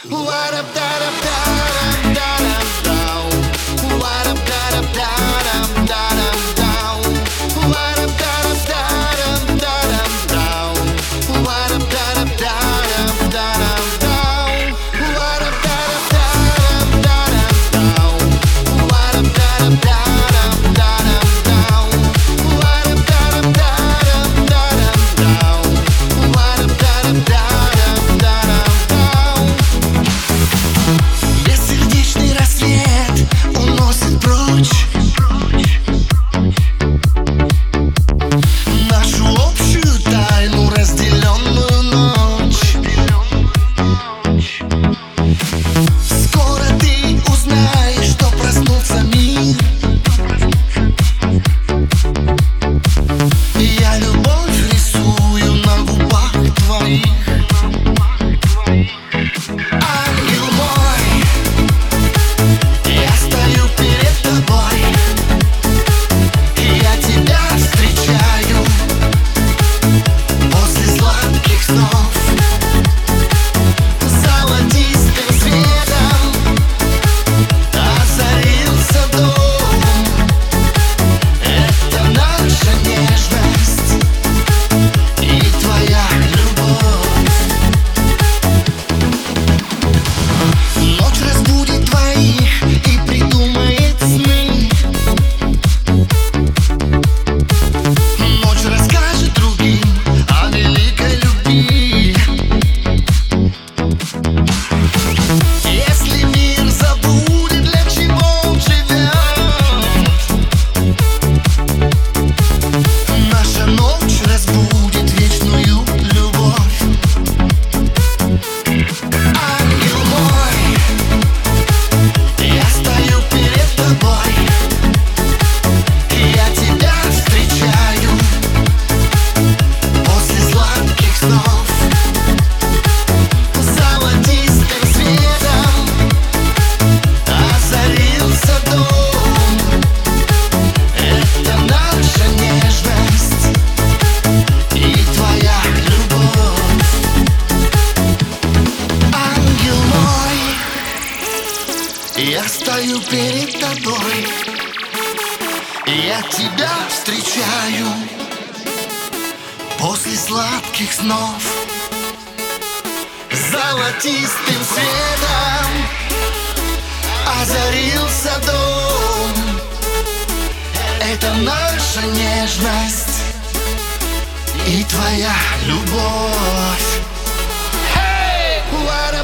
Бессердечный рассвет уносит прочь нашу общую тайну, разделенную ночь. Скоро ты узнаешь, что проснулся мир. Я любовь рисую на губах твоих. Ангел мой, я стою перед тобой, я тебя встречаю после сладких снов. Золотистым светом озарился дом. Это наша нежность и твоя любовь. Ночь разбудит твоих и придумает сны. Ночь расскажет другим о великой любви. Если мир забудет, для чего он живет, наша ночь разбудит вечную любовь. Ангел мой, я стою перед тобой, я тебя встречаю после сладких снов. Золотистым светом озарился дом. Это наша нежность и твоя любовь. Ангел мой, я стою перед тобой, я тебя встречаю после сладких снов. Золотистым светом озарился дом. Это наша нежность и твоя любовь. Hey!